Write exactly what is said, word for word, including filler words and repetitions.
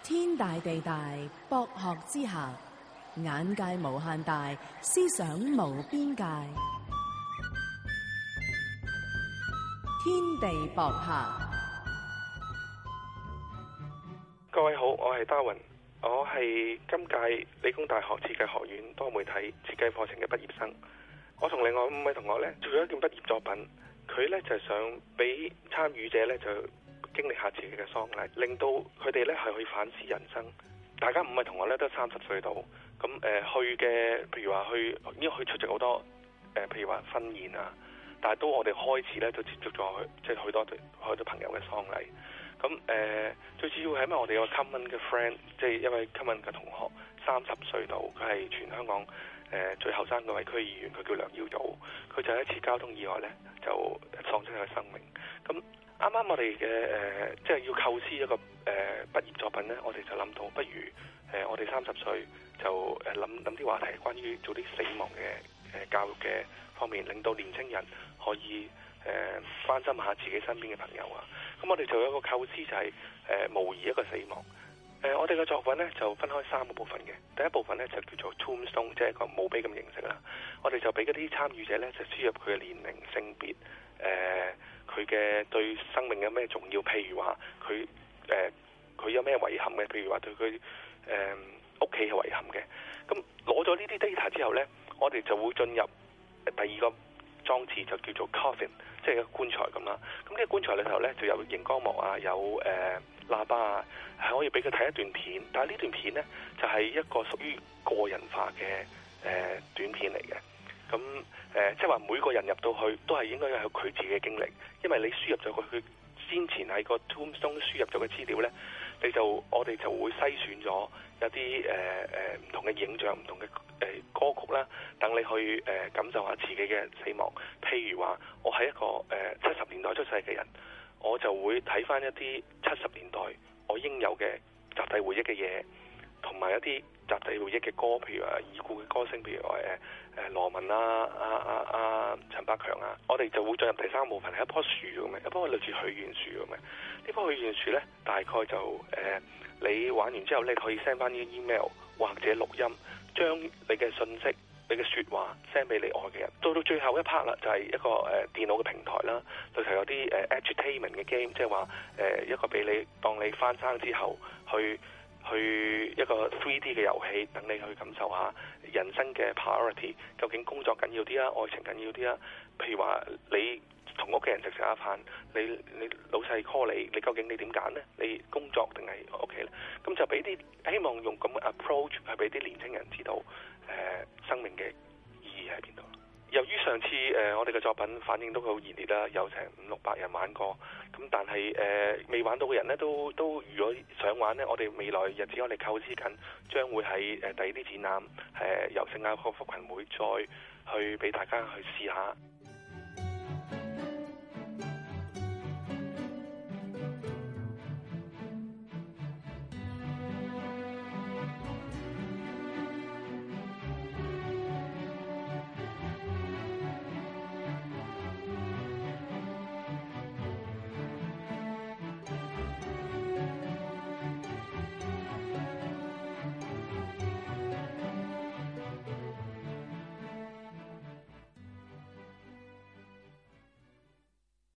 天大地大，博學之下，眼界無限大，思想無邊界。天地博客。 各位好，我係 Darwin，我係今屆理工大學設計學院多媒體設計課程嘅畢業生。我同另外五位同學呢做咗一件畢業作品，佢呢就係想俾參與者呢就經歷下自己嘅喪禮，令到佢哋呢係可以反思人生。大家五位同學呢都三十歲到，咁誒、呃、去嘅，譬如話去，因為去出席好多誒、呃，譬如話婚宴啊，但係都我哋開始呢都接觸咗去，即係許多好多朋友嘅喪禮。咁誒、呃、最主要係因為我哋有個 common 嘅 friend， 即係一位 common 嘅同學，三十歲到，佢係全香港誒、呃、最後生嗰位區議員，佢叫梁耀祖。佢就喺一次交通意外咧，就喪失佢生命。咁啱啱我哋嘅誒，即係要構思一個誒、呃、畢業作品咧，我哋就諗到，不如誒、呃、我哋三十歲就誒諗諗啲話題，關於做啲死亡嘅誒、呃、教育嘅方面，令到年青人可以誒、呃、關心下自己身邊嘅朋友啊。咁我哋就有一個構思，就係、是、誒、呃、模擬一個死亡。誒、呃、我哋嘅作品咧就分開三個部分嘅。第一部分咧就叫做 tombstone， 即係一個墓碑咁形式啦。我哋就俾嗰啲參與者咧就輸入佢嘅年齡、性別、誒佢嘅對生命有咩重要，譬如話佢誒佢有咩遺憾嘅，譬如話對佢誒屋企嘅遺憾嘅。咁攞咗呢啲 data 之後咧，我哋就會進入第二個裝置，就叫做 coffin， 即係一個棺材咁啦。咁呢個棺材裏頭咧就有熒光幕啊，有誒、呃、喇叭啊，係可以俾佢睇一段片。但係呢段片咧就係、是、一個屬於個人化嘅誒、呃、短片嚟嘅。咁誒即係話每個人入到去都係應該有佢自己嘅經歷，因為你輸入咗佢佢先前喺個 tombstone 輸入咗嘅資料咧，你就我哋就會篩選咗有啲誒誒唔同嘅影像、唔同嘅誒、呃、歌曲啦，等你去誒、呃、感受下自己嘅死亡。譬如話，我係一個誒七十年代出世嘅人，我就會睇翻一啲七十年代我應有嘅集體回憶嘅嘢，同埋一啲集體回憶嘅歌，譬如話已故嘅歌星，譬如話誒誒羅文啊、啊啊啊陳百強啊，我哋就會進入第三部分，係一棵樹咁嘅，一棵類似許願樹咁嘅。呢棵許願樹咧，大概就誒、呃、你玩完之後，你可以 send 翻啲 email 或者錄音，將你嘅信息、你嘅説話 send 俾你愛嘅人。到到最後一 part 啦，就係、是、一個誒、呃、電腦嘅平台啦，裏頭有啲誒、呃、edutainment 嘅 game，即係話誒一個俾你當你翻生之後去。去一個 three D 嘅遊戲，等你去感受下人生嘅 priority， 究竟工作緊要啲啊，愛情緊要啲啊？譬如話你同屋企人食食下飯，你你老細 call 你，你究竟你點揀呢？你工作定係屋企呢？咁就俾啲希望用咁嘅 approach 去俾啲年輕人知道，誒、呃、生命嘅意義喺邊度。由於上次誒、呃、我哋嘅作品反應都好熱烈啦，有成五六百人玩過，咁但係誒未玩到嘅人呢，都都如果想玩呢，我哋未來日子我哋構思緊，將會喺誒第二啲展覽誒、呃、由聖雅各福群會再去俾大家去試下。